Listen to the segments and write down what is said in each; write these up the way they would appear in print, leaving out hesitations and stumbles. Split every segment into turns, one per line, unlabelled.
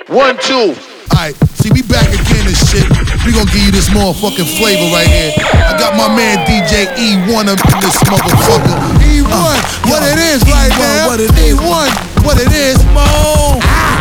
1, 2.
Alright, see, we back again and shit. We gonna give you this motherfucking flavor right here. I got my man DJ E1 up in this motherfucker. E1, what it is right now. E1, what it is, Mo.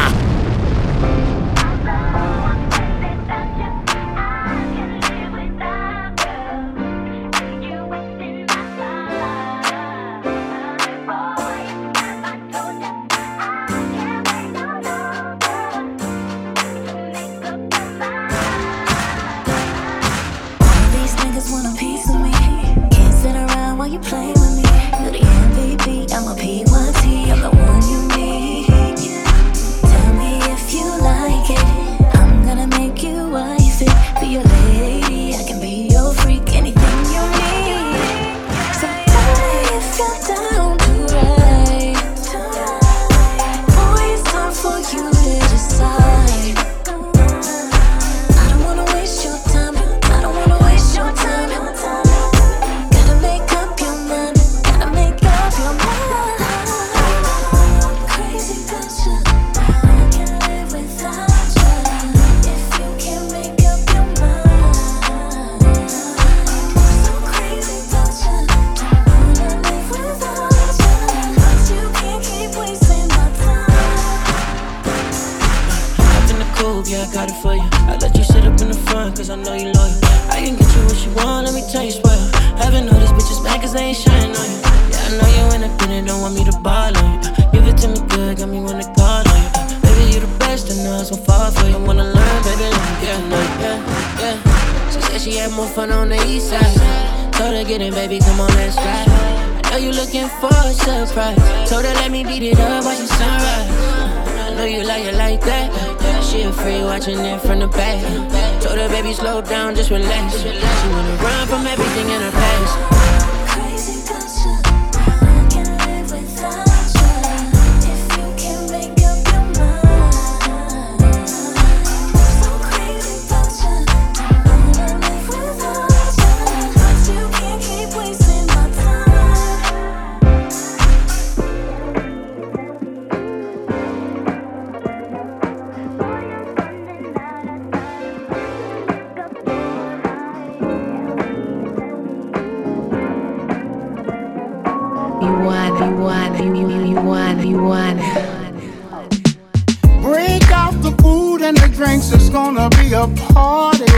Break out the food and the drinks, it's gonna be a party.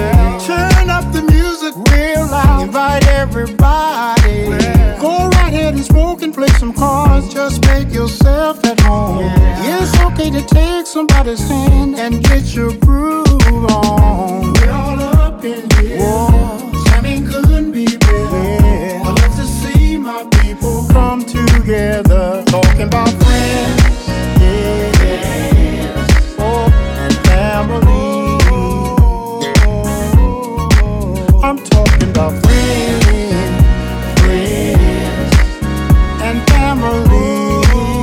Turn up the music real loud, invite everybody. Go right ahead and smoke and play some cards, just make yourself at home. It's okay to take somebody's hand and get your groove on. We're all up in here, jamming couldn't be better. I love to see my people come together, talking about friends. I'm talking about friends and family.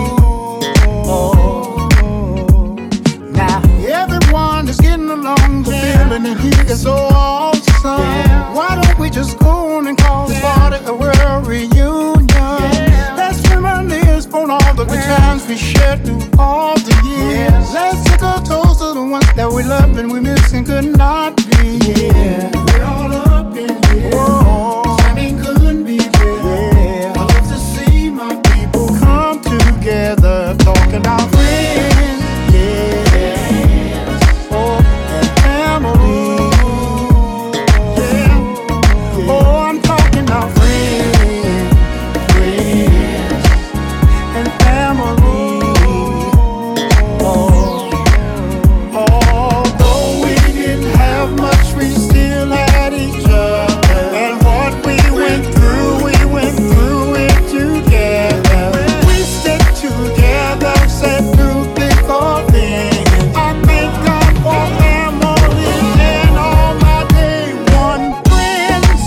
Now everyone is getting along, the feeling in here is so awesome. Why don't we just go on and call the party a world reunion? Let's reminisce on all the good times we shared through all the years. Let's take a toast to the ones that we love and we miss and could not be. We're all up in here. Timing couldn't be better. I love to see my people come together, talking about friends, and family. I'm talking about friends and family. Although we didn't have much, we still had each other. And what we went through it together. We stick together, said through thick or thin. I thank God for family and all my day one friends.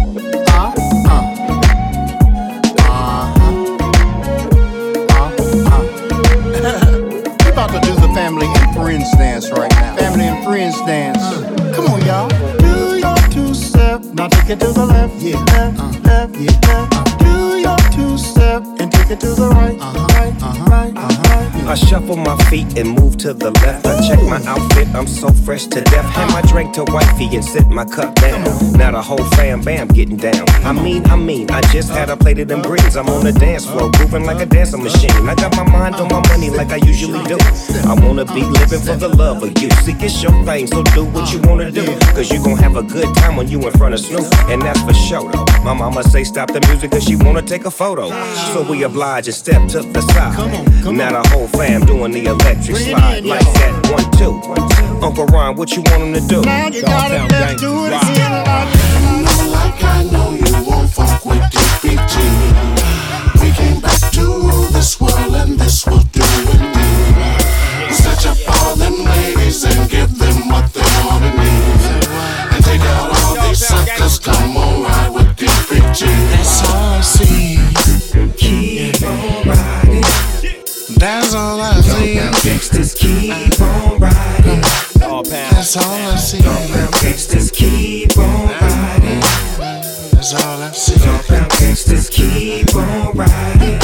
We're about to do the family and friends dance right now. Family and friends dance. Come on, y'all. Do your two-step, now take it to the left, left, left. Do your two-step and take it to the right, right.
Shuffle my feet and move to the left. I check my outfit, I'm so fresh to death. Hand my drink to wifey and sit my cup down. Now the whole fam bam getting down. I mean, I just had a plate of them greens. I'm on the dance floor, grooving like a dancing machine. I got my mind on my money like I usually do. I wanna be living for the love of you. See, it's your thing, so do what you wanna do. Cause you gon' have a good time when you in front of Snoop. And that's for sure though. My mama say stop the music cause she wanna take a photo. So we oblige and step to the side. Now the whole fam doing the electric slide. Like that, 1, 2. Uncle Ron, what you want him to do?
Now you gotta let's do it again.
Like I know you won't fuck with DPG. We came back to this world and this will do it new. Stretch up all them ladies and give them what they want and need. And take out all these suckers, come on ride with DPG.
That's all I see.
Keep on riding.
That's all I see.
Gangsters keep on riding.
That's all I see.
Gangsters keep on riding.
That's all I see.
Gangsters keep on riding.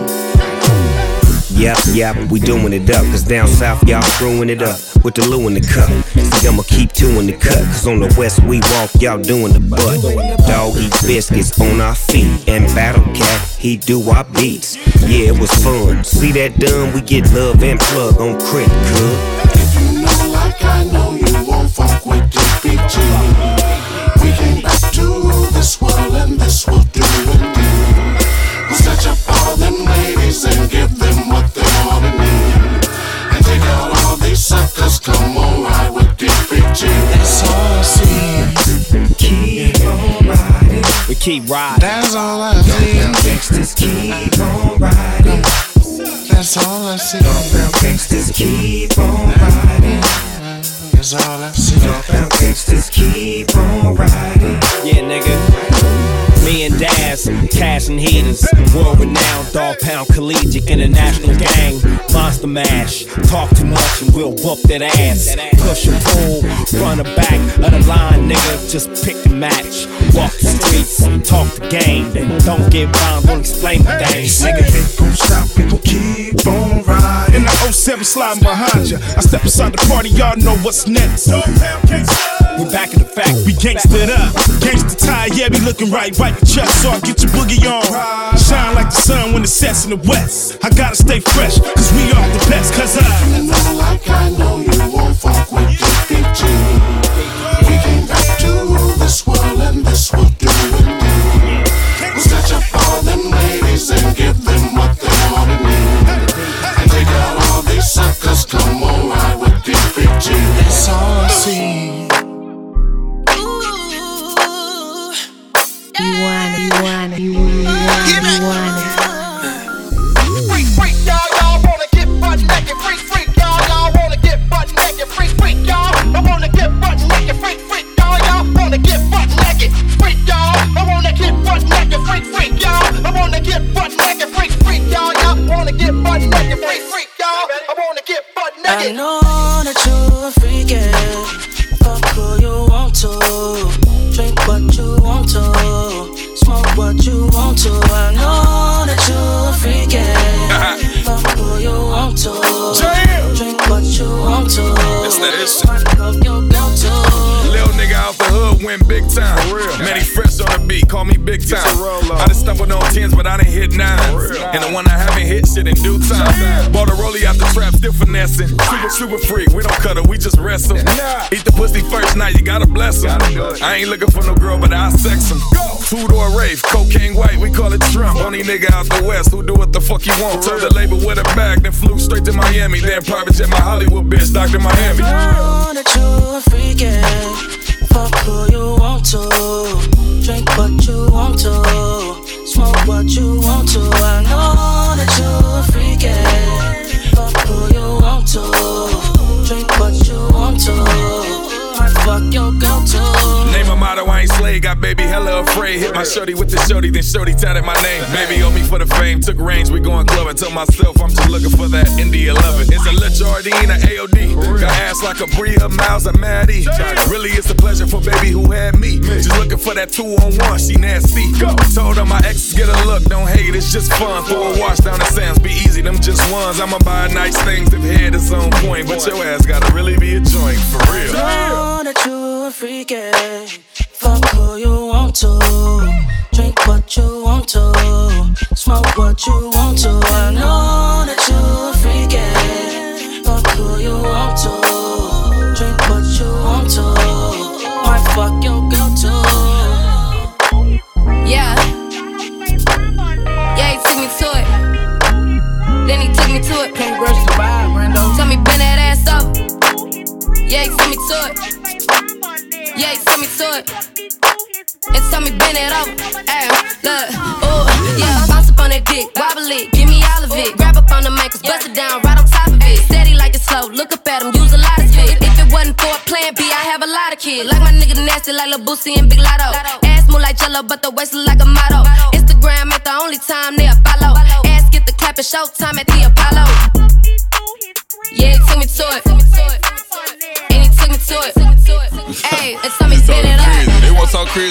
Yep, we doing it up. Cause down south, y'all screwing it up with the Lou in the cup. See, I'ma keep two in the cut. Cause on the west we walk, y'all doing the butt. Dog eat biscuits on our feet. And Battle Cat, he do our beats. Yeah, it was fun. See that done, we get love and plug on Crit Club.
If you know like I know you won't fuck with DPG. We came back to this world and this will do it new. We'll stretch up all them ladies and give them what they want and need. And take out all these suckers, come on ride with DPG.
That's all I see.
Keep on riding.
We keep riding.
That's all I see.
Gangsters keep on riding.
That's all I see.
Gangsters keep on riding.
That's all I see.
Gangsters keep on riding.
Yeah, nigga. Me and Daz, Cash and Heaters, world renowned, Dog Pound Collegiate International Gang, Monster Mash. Talk too much and we'll whoop that ass. Push and pull, front or back of the line, nigga. Just pick a match. Walk the streets, talk the game, then don't get rhymes, don't explain the things.
Nigga, it gon' stop, we gon' keep on riding. In the 07 sliding behind ya, I step inside the party, y'all know what's next.
We back in the fact,
We gangstered up, gangsta tie, yeah, we looking right the chest, so I get your boogie on. Shine like the sun when it sets in the west. I gotta stay fresh, cause we are the best, cause
You know like I know you won't fuck with DPG. We came back to this world and this will do it new. We'll stretch up all them ladies and give them what they want and need. And take out all these suckers, come on ride with DPG.
That's all I see.
You want it.
Freak, y'all wanna get butt naked. Freak, y'all wanna get butt naked. Freak, y'all, I wanna get butt naked. Freak, y'all wanna get butt naked. Freak, y'all, I wanna get butt naked. Freak, y'all, I wanna get butt naked. Freak, y'all wanna get butt naked. Freak, y'all, I wanna get butt naked.
I know that you're a freak, yeah. Fuck who you want to. Drink what you want to, smoke what you want to. I know that you're a freak, yeah. Fuck who you want to, drink what you want to, fuck up your girl too.
Little nigga out the hood went big time. Man, he fresh on the beat, call me big time. I done stumbled on 10s, but I done hit 9s. And the one I haven't hit, shit in due time. Bought a rollie out the trap, still finessing. Super freak, we don't cut her, we just wrestle. Eat the pussy first night, you gotta bless him. I ain't looking for no girl, but I'll sex him. Two-door rave, cocaine white, we call it shrimp. Only nigga out the west who do what the fuck he want. Told the label with a bag, then flew straight to Miami. Then private jet my Hollywood bitch, Dr. Miami.
I know that you're a freak, yeah. Fuck who you want to, drink what you want to, smoke what you want to. I know that you're a freak, yeah. Fuck who you want to, drink what you want to, might fuck your girl too.
Name a motto, I ain't slay, got baby hella afraid. Hit my shorty with the shorty, then shorty tatted my name. Baby owe me for the fame, took range, we going clubbing. Told myself I'm just looking for that India lovin'. It's a Le Jardine, a AOD. her ass like a Bria, Miles, or Maddie. Really, it's a pleasure for baby who had me. Just looking for that 2-on-1, she nasty. Told her my exes get a look, don't hate, it's just fun. Throw a wash down the sands, be easy, them just ones. I'ma buy nice things if head is on point, but your ass gotta really be a joint, for real.
Know that you a freak, yeah. Fuck who you want to. Drink what you want to. Smoke what you want to. I know that you a freak, yeah. Fuck who you want to. Drink what you want to. Might fuck your girl too.
Yeah. Yeah, he took me to it. Then he took me to it.
Can't rush the vibe, Brando.
Tell me bend that ass up. Yeah, he took me to it. Yeah, he took me to it. And tell me bend it over. Ay, look, ooh, yeah, bounce up on that dick, wobble it, give me all of it. Grab up on the ankles, bust it down, right on top of it. Steady like it's slow, look up at him, use a lot of spit. If it wasn't for a plan B, I have a lot of kids. Like my nigga nasty, like Lil Boosie and Big Lotto. Ass move like Jello, but the waist look like a motto. Instagram ain't the only time they follow. Ass get the clap at showtime at the Apollo. Yeah, he took me to it. And he took me to it. Ayy, and tell me bend it up.
They want so crazy.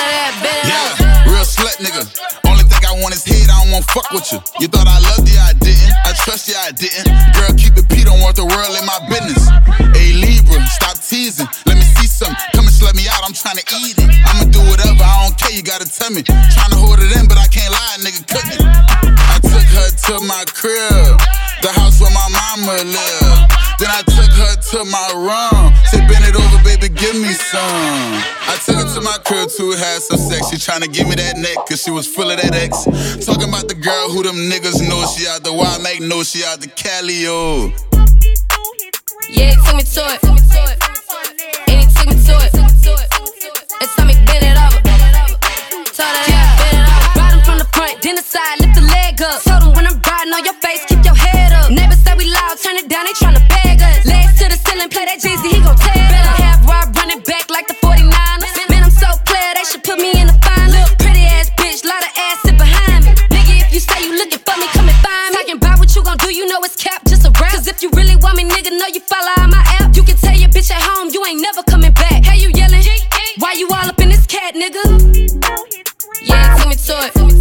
Yeah,
real slut nigga. Only thing I want is head, I don't want fuck with you. You thought I loved you, I didn't. I trust you, I didn't. Girl, keep it P, don't want the world in my business. Hey Libra, stop teasing. Let me see something. Come and slut me out, I'm tryna eat it. I'ma do whatever, I don't care, you gotta tell me. Tryna hold it in, but I can't lie, nigga, cook it. I took her to my crib, the house where my mama lived. Then I took her to my room. Said, bend it over, baby, give me some. I took her to my crib to have some sex. She tryna give me that neck, cause she was full of that X. Talking about the girl who them niggas know. She out the Wild Make, know she out the Cali, oh.
Yeah, he took me to it. And he took me to it. And told me bend it over. Told her that bend it over. Ride him from the front, then the side, lift the leg up. Told him when I'm riding on your face, keep your head up. Neighbors say we loud, turn it down, they tryna bag us. Legs to the ceiling, play that Jeezy, he gon' tear it up. Have Rob running back like the 49ers. Man, I'm so player, they should put me in the finals. Little pretty ass bitch, lot of ass sit behind me. Nigga, if you say you looking for me, come and find me. Talking about what you gon' do, you know it's cap, just a rap. Cause if you really want me, nigga, know you follow on my app. You can tell your bitch at home, you ain't never coming back. Hey, you yelling? Why you all up in this cat, nigga? Yeah, he took me to it. And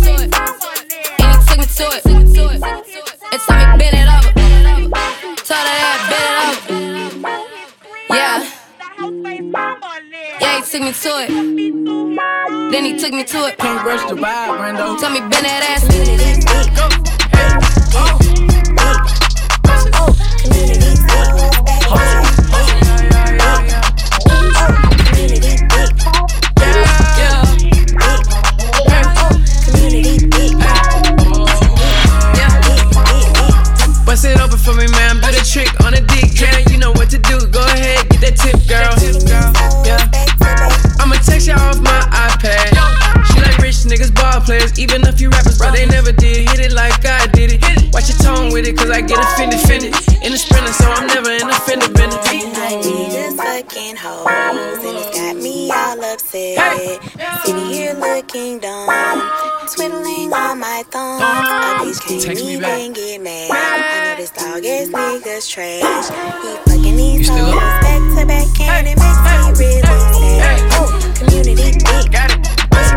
he took me to it. And told me bend it over. Told her that bend it over. Yeah. Yeah, he took me to it. Then he took me to it.
Can't rush the vibe, Brando.
Tell me bend that ass. Go.
Bust it open for me, man. Do the trick on the dick, yeah. You know what to do. Go ahead, get that tip, girl. Yeah. I'ma text you off my iPad. She like rich niggas, ball players. Even a few rappers, but they never did hit it like I did it. Watch your tone with it, cause I get offended. In the sprinter, so I'm never in a fender bender.
I need just fucking hoes, and it's got me all upset. Sitting here looking dumb, twiddling on my thumbs. A bitch can't even get mad. I know this dog ass niggas trash. He fucking these hoes back to back, and it makes me really sad. Community dick. Got it.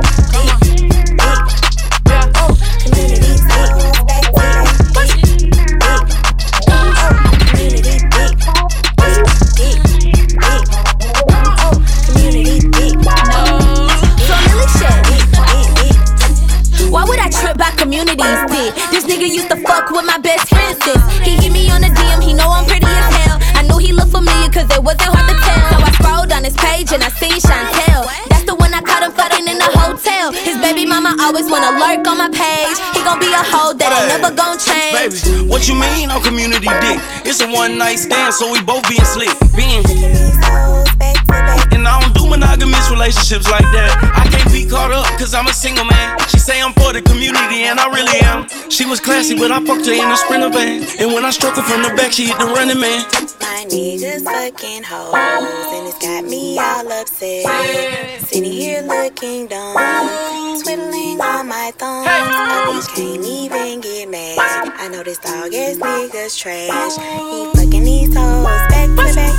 Why would I trip by communities, dick? This nigga used to fuck with my best friend, sis. He hit me on the DM, he know I'm pretty as hell. I knew he looked familiar cause it wasn't hard to tell. So I scrolled on his page and I seen Chantel. That's the one I caught him fucking in the hotel. His baby mama always wanna lurk on my page. He gon' be a hoe that ain't never gon' change.
Baby, what you mean on community dick? It's a one night stand, so we both being slick. And I don't do monogamous relationships like that. I can't be caught up cause I'm a single man. She say I'm for the community and I really am. She was classy but I fucked her in a Sprinter van. And when I struck her from the back she hit the running man.
My niggas fucking hoes, and it's got me all upset. Sitting here looking dumb, twiddling on my thumbs. A bitch can't even get mad. I know this dog ass niggas trash. He fucking these hoes back to back.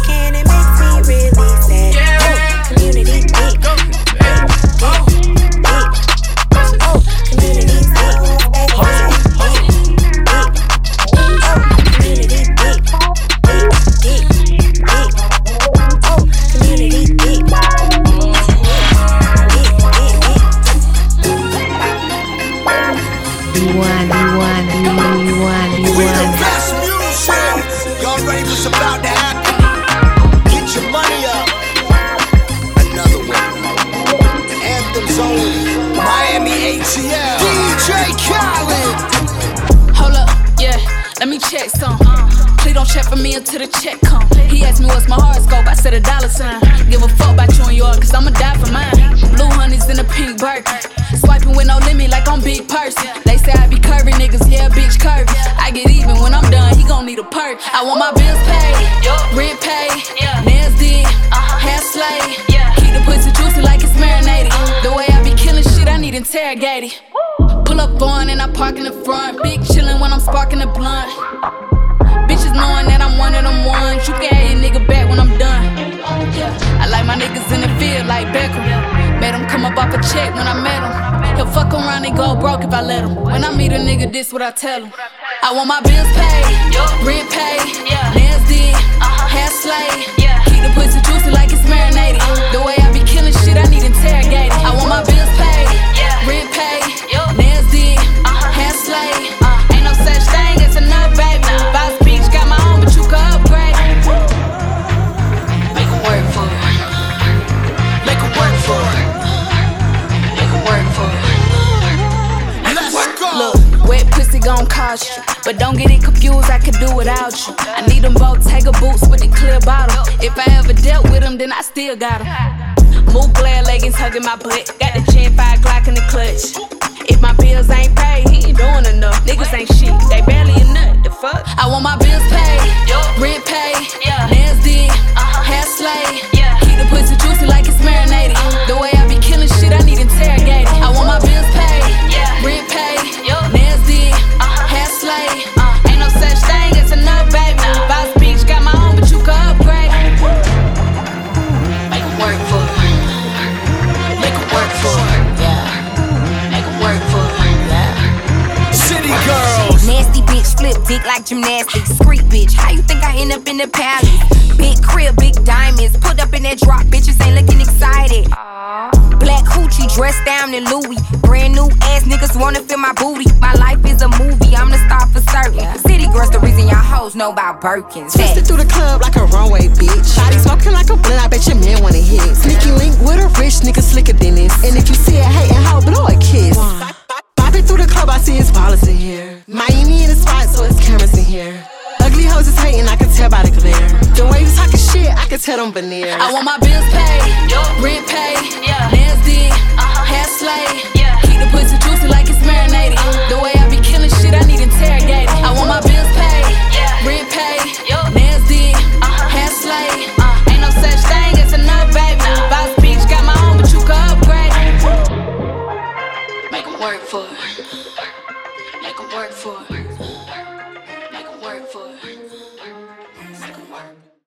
what's about to happen. Get your money up. Another one. Anthems only. Miami ATL. DJ Khaled.
Hold up, yeah, let me check some. Please don't check for me until the check come. He asked me what's my horoscope, I said $. Give a fuck about you and yours, cause I'ma die for mine. Blue honeys in a pink Birkin. Swiping with no limit like I'm big person. They say I be curvy niggas, yeah, bitch curvy. I get even when I'm done, he gon' need a perk. I want my bills paid, rent paid, nails did, hair slayed. Keep the pussy juicy like it's marinated. The way I be killing shit, I need interrogated. Pull up on and I park in the front. Big chillin' when I'm sparking the blunt. Bitches knowing that I'm one of them ones. You can have your nigga back when I'm done. I like my niggas in the field like Beckham. Made him come up off a check when I met him. He'll fuck around and go broke if I let him. When I meet a nigga, this what I tell him. I want my bills paid, rent paid, nails did, hair slayed. Keep the pussy juicy like it's marinated. The way I be killing shit, I need interrogated. I want my bills paid, rent paid, nails did, hair slayed. Ain't no such thing as enough, baby. Boss Beach got my own, but you can upgrade. Make it work for it. Make it work for it. Make it work for it.
Let's go.
Look, wet pussy gon' cost you, but don't get it confused, I could do without you. I need them both Tiger boots with the clear bottom. If I ever dealt with them, then I still got them. Move glare leggings hugging my butt. Got the Gen 5 Glock in the clutch. If my bills ain't paid, he ain't doing enough. Niggas ain't shit, they barely a nut. The fuck? I want my bills paid, rent paid, nails did, hair slayed. Keep the pussy juicy like it's marinated. The way I be killing shit, I need interrogated. I want my bills paid, rent paid, nails did, hair slayed. Ain't no such thing as enough, baby. Boss Beach got my own, but you can upgrade. Make it work for it. Make it work for it.
City girls.
Nasty bitch, flip dick like gymnastics. Street bitch, how you think I end up in the palace? Big crib, big diamonds. Put up in that drop, bitches ain't looking excited. Black hoochie dressed down in Louis. Brand new ass niggas wanna feel my booty. My life is a movie, I'm the star for certain. City girls, the reason y'all hoes know about Birkins.
Twisted through the club like a runway, bitch. Body smoking like a blunt, I bet your man wanna hit. Sneaky link with a rich nigga slicker than this. And if you see a hatin' hoe, blow a kiss. Bopping through the club, I see it's ballers in here. Miami in the spot, so it's cameras in here. Ugly hoes is hating, I can tell by the glare. The way you talking shit, I can tell them veneers.
I want my bills paid, rent paid, nails did, hair slayed. Keep the pussy juicy like it's marinated. The way I be killing shit, I need interrogated. I want my bills paid, rent paid, nails did, hair slayed. Ain't no such thing as enough, baby. Boss Beach got my own, but you can upgrade. Make it work for it. Make it work for it.